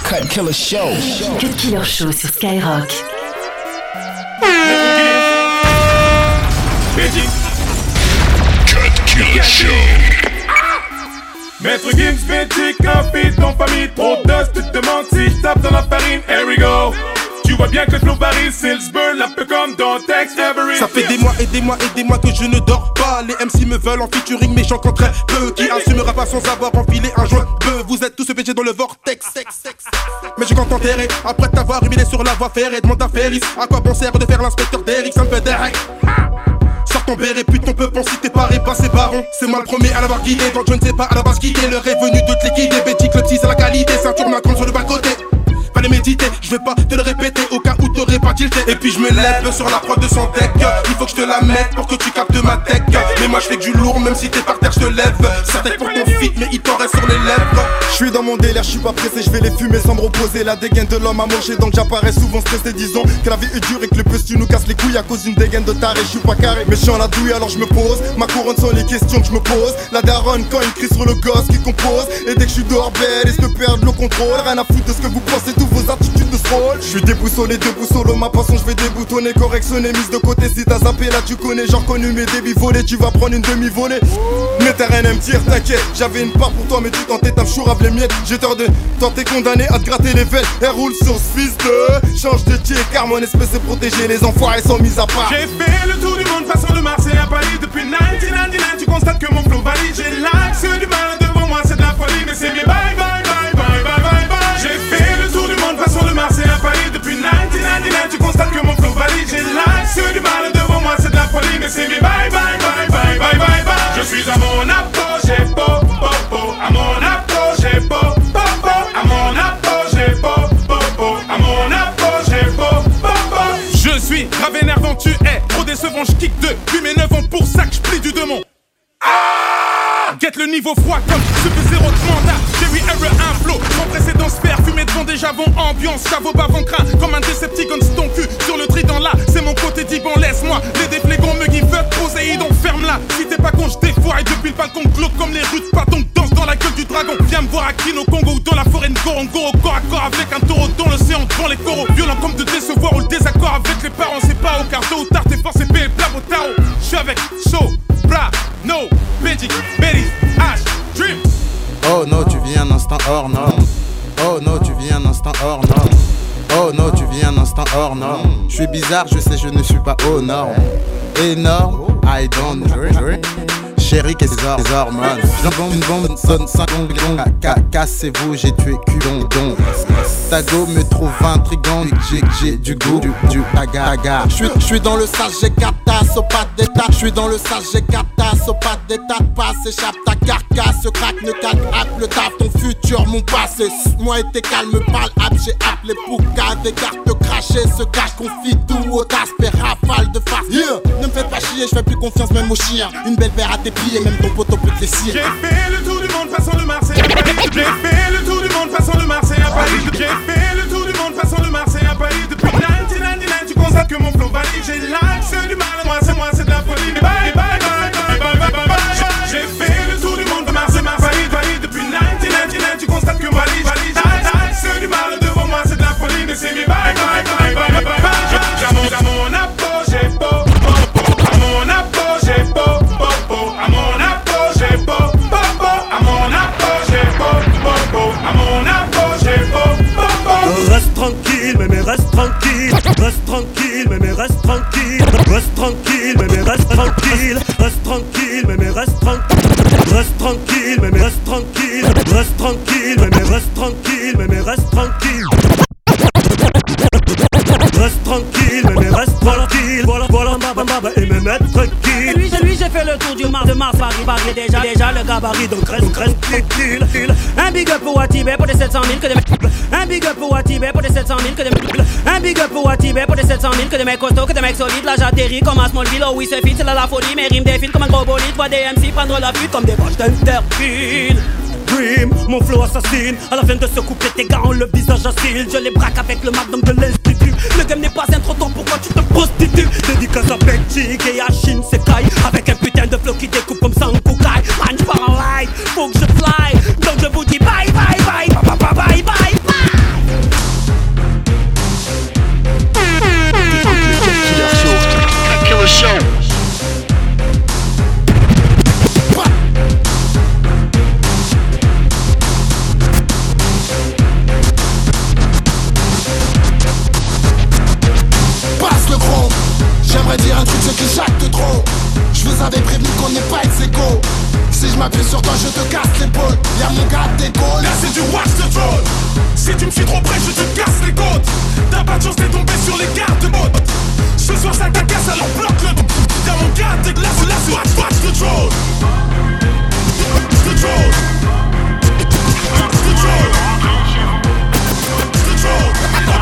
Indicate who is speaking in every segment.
Speaker 1: Cut Killer Show.
Speaker 2: Cut Killer Show sur Skyrock.
Speaker 3: Cut Killer Show.
Speaker 4: Maître Gims, Magic, un feat en famille, trop de dust, tu te demandes si je tape dans la farine, here we go. Tu vois bien que le flow varie, Silsburn, un peu comme dans Tex Avery.
Speaker 5: Ça fait des mois que je ne dors pas. Les MC me veulent en featuring, mais j'en compte très peu. Qui assumera pas sans avoir enfilé un joint de. Vous êtes tous péchés dans le vortex. Mais je compte enterrer, après t'avoir humilié sur la voie ferrée. Demande à Ferris, à quoi bon sert de faire l'inspecteur d'Eric, ça me fait Derek. Sors ton béret, putain, on peut penser t'es pas repassé baron. C'est moi le premier à l'avoir guidé, donc je ne sais pas à la base quitter. L'heure est venue de te liquider, Bétique, le petit c'est la qualité. Ceinture Macron sur le bas-côté. Fallait méditer, je vais pas te le répéter au cas où t'aurais pas tilté. Et puis je me lève sur la prod de son deck. Il faut que je te la mette pour que tu captes ma tech. Mais moi je fais que du lourd, même si t'es par terre je te lève. Ça t'aide pour ton feat, mais il t'en reste sur les lèvres.
Speaker 6: Je suis dans mon délire, je suis pas pressé, je vais les fumer sans me reposer. La dégaine de l'homme a moché, donc j'apparais souvent stressé. Disons que la vie est dure et que le bus tu nous casses les couilles à cause d'une dégaine de taré. Je suis pas carré, mais je suis en la douille alors je me pose. Ma couronne sont les questions que je me pose. La daronne quand il crie sur le gosse qui compose. Et dès que je suis dehors belle, et je peux perdre le contrôle. Rien à foutre de ce que vous pensez, tous vos attitudes de je suis déboussolé, debout solo, ma passion je vais déboutonner, correctionner, mise de côté. Si t'as zappé là tu connais, j'ai reconnu mes débits volés. Tu vas prendre une demi-volée, mais t'as rien à me dire, t'inquiète. J'avais une part pour toi mais tu tentais ta chourave les miettes. J'ai tort de tenter condamné à te gratter les veines. Elle roule sur ce fils de change de tir car mon espèce est protégée. Les enfoirés sont mis à part.
Speaker 4: J'ai fait le tour du monde passant de Marseille à Paris. Depuis 1999 tu constates que mon flow varie. J'ai l'axe du mal devant moi, c'est de la folie. Mais c'est mieux, bye bye bye bye bye bye bye. J'ai fait le tour du monde passant de Marseille à Paris. Depuis 1999 tu constates que mon flow varie. J'ai l'axe du mal devant moi, c'est de la folie. Mais c'est mieux, bye bye bye bye bye bye bye. Je suis à mon apogée, po po po. À mon apogée, po po po. À mon apogée, po po po. À mon apogée, po po po. Je suis grave énervant, tu es trop décevant. Je kick depuis mes 9 ans, pour ça que je plie du démon. Guette le niveau froid comme Super Zéro de mandat. Jerry Error, un flow sans précédent, sphère fumé devant des javons, ambiance, caveau bavant crin. Comme un Decepticon, ton cul sur le trident là. C'est mon côté d'Iban, laisse-moi. Les déflégons me give up, Poséidon, ferme-la. Si t'es pas con, je défoire et depuis le balcon, glauque comme les rues de Paton. Danse dans la gueule du dragon. Viens me voir à Kino Congo ou dans la forêt de Gorongo. Au corps à corps avec un taureau dans l'océan, devant les coraux. Violent comme de décevoir ou le désaccord avec les parents. C'est pas au car tôt ou tard, t'es forcé payé blab au tarot. J'suis avec So, Bra, No, Magic, Betty, Ash, Dream.
Speaker 7: Oh no, tu vis un instant hors norme. Oh no, tu vis un instant hors norme. Oh no, tu vis un instant hors norme. Je suis bizarre, je sais, je ne suis pas aux normes. Énorme, I don't drink. Chérie, qu'est-ce que c'est hormones? J'en une bombe, sonne 5 secondes. Cassez-vous, j'ai tué culon. Ta go me trouve intrigant. J'ai du goût, du bagarre. J'suis dans le sale, j'ai 4 tasses au pas d'état. J'suis dans le sale, j'ai 4 tasses au pas d'état. Passe, échappe ta carcasse, craque, ne calme, le taf, ton futur, mon passé. Moi et tes calmes, parle, j'ai appelé Pouka. Des cartes crachées, se cache, confie tout au tasse, rafale de farce. Ne me fais pas chier, j'fais plus confiance même aux chiens. Une belle verre à tes pieds, même ton poteau peut te les cirer.
Speaker 4: J'ai fait le tour du monde passant de Marseille à Paris. J'ai fait le tour du monde passant de Marseille à Paris. J'ai fait le tour du monde passant de Marseille à Paris. Depuis 1999 tu constates que mon flow varie. J'ai l'axe du mal, moi c'est de la folie. Mais bye bye bye bye bye bye bye. J'ai fait le tour du monde de Marseille à Paris. Depuis 1999 tu constates que moi valide. L'axe du mal devant moi c'est de la folie. Mais c'est mes bye bye bye bye bye bye. À mon apogée, po po po. À mon apogée, po po po. À mon apogée, po po po. À mon apogée, po po po. À mon apogée, po po po.
Speaker 8: Reste tranquille, mais reste tranquille. Reste tranquille, mais reste tranquille. Reste tranquille, mais reste tranquille. Reste tranquille, mais reste tranquille. Reste tranquille, mais reste tranquille. Reste tranquille, mais reste tranquille. Mais reste tranquille. Reste tranquille, mais reste tranquille. Voilà, baba, et me mettre tranquille. Lui, j'ai fait le tour du Mars, de Mars, Paris, déjà le gabarit, donc reste tranquille. Un big up pour Watibé pour des 700 000 que des mecs. Un big up pour Watibé pour des 700 000 que des mecs. Un big up pour Watibé pour des 700 000 que des mecs costauds, que des mecs solides. Là j'atterris comme à Smallville, oh oui c'est fit, c'est là la folie. Mes rimes défilent comme un gros bolide. Vois des MC prendre la fuite comme des vaches d'Interpil. Dream, mon flow assassine. À la fin de ce couplet, tes gars ont le visage acide. Je les braque avec le magnum de l'institut. Le game n'est pas un trottoir, pourquoi tu te prostitues? Dédicace à Belgique et à Shin Sekai. Avec un putain de flow qui découpe comme Sankukai. Man, j'pars en live, faut que je fly. Donc je vous dis bye bye bye, bye bye bye bye bye.
Speaker 1: m'appuies sur toi, je te casse l'épaule. Y'a mon gars d'épaule.
Speaker 4: Là c'est du watch the drone. Si tu me suis trop près, je te casse les côtes. T'as pas de chance, t'es tombé sur les garde-bottes. Ce soir ça cacasse, alors bloque le. Y'a mon gars d'épaule. Là c'est watch the drone. The drone. The drone. The drone.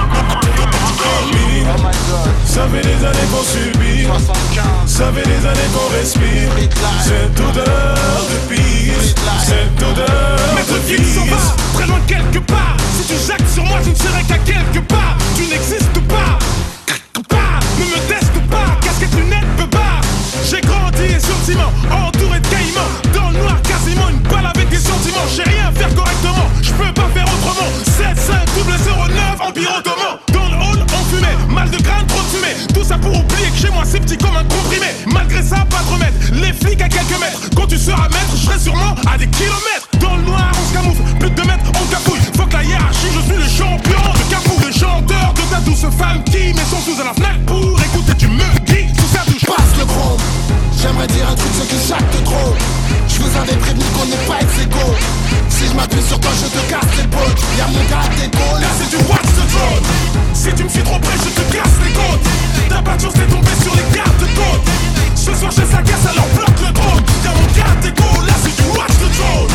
Speaker 4: Ça fait des années qu'on subit, ça fait des années qu'on respire. Cette odeur de pisse, cette odeur de pisse. S'en va, très loin quelque part. Si tu jactes sur moi, je ne serai qu'à quelque part. Tu n'existes pas, ne me teste pas. Casquette, lunettes, beubard. J'ai grandi gentiment, entouré de caïmans. Dans le noir, quasiment une balle avec des sentiments. J'ai rien à faire correctement, je peux pas faire autrement. 7-5-0-9, Empire Ottoman. Dans le hall, on fumait, mal de crâne, trop de fumée. Tout ça pour oublier que chez moi c'est petit comme un comprimé. Malgré ça, pas de remède, les flics à quelques mètres. Quand tu seras maître, je serai sûrement à des kilomètres. Dans le noir, on se camoufle, plus de 2 mètres, on capouille. Faut que la hiérarchie, je suis le champion de Capou. Le chanteur de ta douce femme qui met son sous à la fenêtre pour écouter du Muggy sous sa douche.
Speaker 1: Passe le chrome. J'aimerais dire un truc, ce qui jacte trop. Je vous avais prévenu qu'on n'est pas ex-égaux. Si je m'appuie sur toi, je te casse l'épaule. Y'a mon gars d'épaule.
Speaker 4: Là c'est du watch the drone. Si tu me suis trop près, je te casse les côtes. T'as pas de chance, t'es tombé sur les garde-côtes. Ce soir j'ai sa casse, alors bloque le drone. Y'a mon gars d'épaule. Là c'est du watch the drone.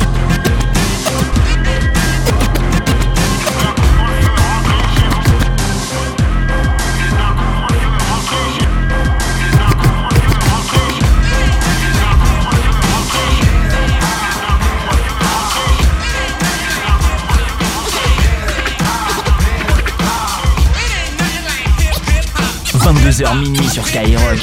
Speaker 3: « 22h minuit sur Skyrock.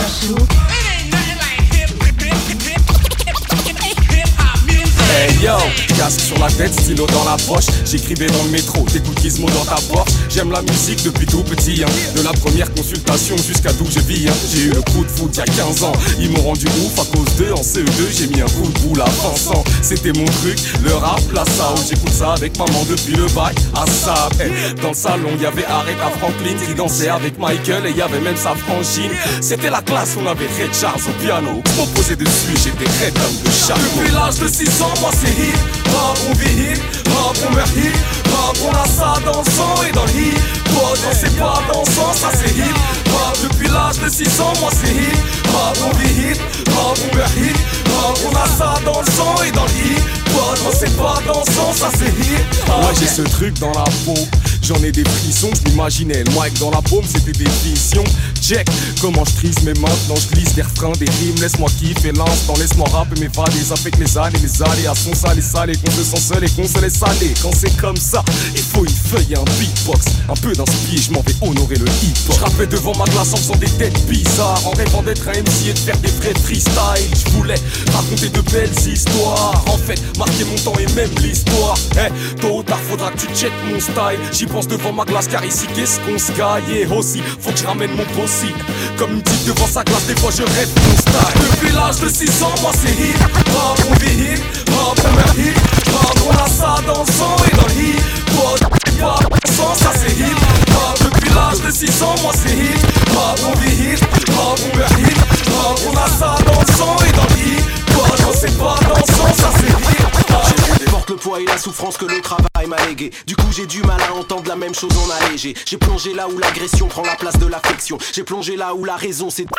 Speaker 9: Hey yo, casque sur la tête, stylo dans la poche. J'écrivais dans le métro, t'écoutes Gizmo dans ta Porsche. J'aime la musique depuis tout petit, hein. De la première consultation jusqu'à d'où je vis, hein. J'ai eu le coup de foot il y a 15 ans. Ils m'ont rendu ouf à cause d'eux. En CE2 j'ai mis un coup de boule à Vincent. C'était mon truc, le rap, la sao. J'écoute ça avec maman depuis le bac à ça. Hey, dans le salon y'avait Aretha Franklin qui dansait avec Michael. Et y'avait même sa frangine. C'était la classe, on avait Ray Charles au piano. Je m'en posais dessus, j'étais Red comme de chameau. Depuis l'âge de 6 ans, moi c'est hip hop, on vit hip hop, on meurt hip hop, on a ça dans le sang et dans le hip hop. Non c'est pas dansant, ça c'est hip hop. Depuis l'âge de 6 ans, moi c'est hip hop, on vit hip hop, on meurt hip hop, on a ça dans le sang et dans le hip hop. Non c'est pas dansant, ça c'est hip hop. Moi j'ai ce truc dans la peau, j'en ai des frissons, je m'imaginais le mic dans la paume, c'était des visions. Check comment je trise mes maintenant je glisse des refrains, des rimes. Laisse-moi kiffer l'instant, laisse-moi rapper mes fades. Avec les années, les aléas sont salés, salés. Qu'on se sent seul et qu'on se laisse aller. Quand c'est comme ça, il faut une feuille et un beatbox. Un peu d'inspiration, je m'en vais honorer le hip-hop. Je rappais devant ma glace en faisant des têtes bizarres, en rêvant d'être un MC et de faire des vrais freestyles. Je voulais raconter de belles histoires, en fait marquer mon temps et même l'histoire. Tôt ou tard faudra que tu checkes mon style. J'y pense devant ma glace car ici qu'est-ce qu'on se caille. Et aussi faut que je ramène mon possible. Comme une petite devant sa glace, des fois je rêve mon style. Depuis l'âge de 6 ans, moi c'est hip hop, on vit hip hop, on meurt hip hop, on a ça dans le sang et dans le hip hop. Pas sans ça c'est hip hop. Depuis l'âge de 6 ans, moi c'est hip hop, on vit hip hop, on meurt hip hop, on a ça dans le sang et dans le hip hop. Non c'est pas dansant, ça c'est hip hop.
Speaker 10: Je porte le poids et la souffrance que le travail m'a légué. Du coup j'ai du mal à entendre la même chose en allégé. J'ai plongé là où l'agression prend la place de l'affection. J'ai plongé là où la raison c'est...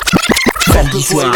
Speaker 3: Samedi soir,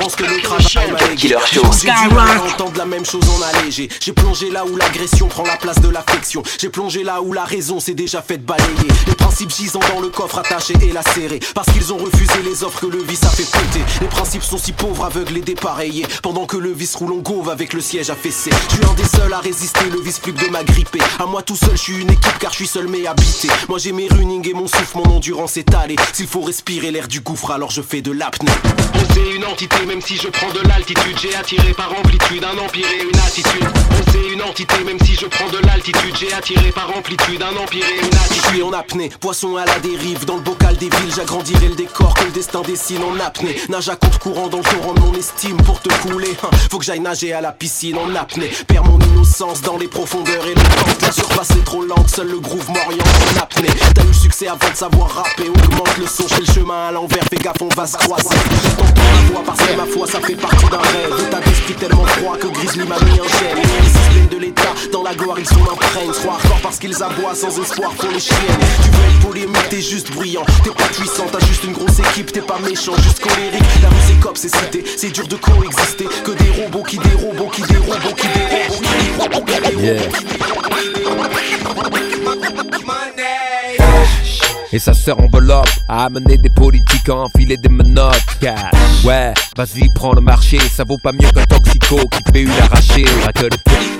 Speaker 3: Killer Show.
Speaker 10: J'ai du mal à entendre la même chose en allégé. J'ai plongé là où l'agression prend la place de l'affection. J'ai plongé là où la raison s'est déjà faite balayer. Les principes gisant dans le coffre attachés et lacérés, parce qu'ils ont refusé les offres que le vice a fait péter. Les principes sont si pauvres, aveugles et dépareillés, pendant que le vice roule en gauve avec le siège affaissé. Je suis un des seuls à résister, le vice plus que de m'agripper. À moi tout seul, je suis une équipe car je suis seul mais habité. Moi j'ai mes running et mon souffle, mon endurance étalée. S'il faut respirer l'air du gouffre, alors je fais de l'apnée.
Speaker 11: On sait une entité, même si je prends de l'altitude. J'ai attiré par amplitude un empire et une attitude. On sait une entité, même si je prends de l'altitude. J'ai attiré par amplitude un empire et une attitude.
Speaker 10: Je suis en apnée, poisson à la dérive. Dans le bocal des villes, j'agrandirai le décor que le destin dessine en apnée. Nage à compte courant dans le torrent de mon estime pour te couler. Faut que j'aille nager à la piscine en apnée. Perds mon l'innocence dans les profondeurs et le temps. La surface est trop lente, seul le groove m'oriente en apnée. T'as eu le succès avant de savoir rapper, augmente le son, je fais le chemin à l'envers, fais gaffe on va se croiser. J'entends ma voix parce que ma foi ça fait partie d'un rêve. État d'esprit tellement froid que Grizzly m'a mis un gène. Les systèmes de l'état, dans la gloire ils sont imprègnent. Soit hardcore parce qu'ils aboient sans espoir pour les chiennes. Tu veux être polémique, t'es juste bruyant. T'es pas puissant, t'as juste une grosse équipe, t'es pas méchant, juste colérique. La rue c'est cop, c'est cité, c'est dur de coexister. Que des robots qui des robots qui des robots qui des robots qui des robots qui des robots.
Speaker 12: Et sa sœur enveloppe à amener des politiques à enfiler des menottes. Ouais, vas-y prends le marché, ça vaut pas mieux qu'un toxico qui fait une arrachée. Que le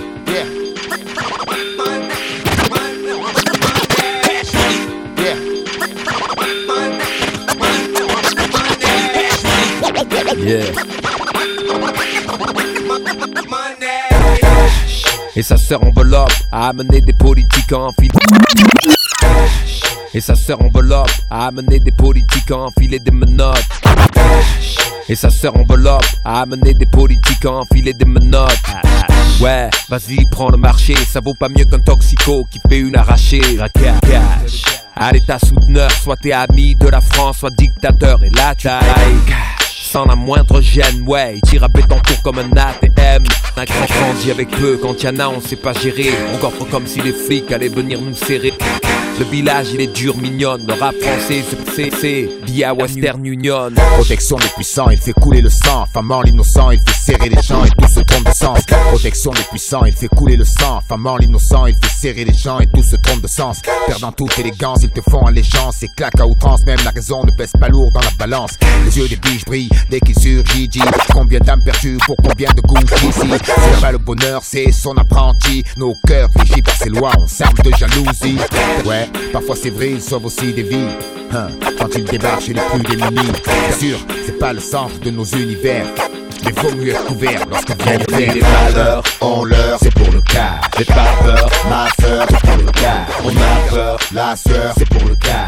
Speaker 12: Et sa sœur enveloppe à amener des politiques à enfiler. Et sa sœur enveloppe à amener des politiques à enfiler des menottes. Et sa sœur enveloppe à amener des politiques à enfiler des menottes. Ouais, vas-y prends le marché, ça vaut pas mieux qu'un toxico qui fait une arrachée. Allez ta souteneur, soit t'es ami de la France, soit dictateur. Et là tu like sans la moindre gêne, ouais, il tire à Bétancourt comme un ATM. Un grand grandit avec peu, quand y'en a on sait pas gérer. On coffre comme si les flics allaient venir nous serrer. Le village il est dur, mignonne, le rap français c'est via Western Union.
Speaker 13: Protection des puissants, il fait couler le sang. Famant l'innocent, il fait serrer les gens et tout se trompe de sens. Protection des puissants, il fait couler le sang. Famant l'innocent, il fait serrer les gens et tout se trompe de sens. Perdant toute élégance, ils te font allégeance et claquent à outrance, même la raison ne pèse pas lourd dans la balance. Les yeux des biches brillent dès qu'il surgit. Combien d'âmes perdues pour combien de goûts ici. C'est pas le bonheur, c'est son apprenti. Nos cœurs régis par ces lois, on s'arme de jalousie. Ouais, parfois c'est vrai, ils sauvent aussi des vies. Quand ils débarquent chez les plus démunis. Bien sûr, c'est pas le centre de nos univers, mais vaut mieux être couvert lorsque vient l'hiver.
Speaker 14: Les valeurs, on leur, c'est pour le cas. J'ai pas peur, ma sœur, c'est pour le cas. On a peur, la sœur, c'est pour le cas.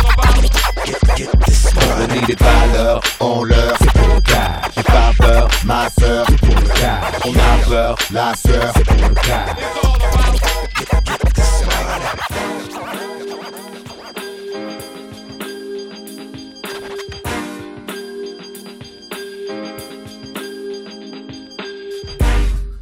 Speaker 14: On dit des valeurs, on leur, c'est pour le cas. J'ai pas peur, ma sœur, c'est pour le cas. On a peur, la sœur, c'est pour le cas.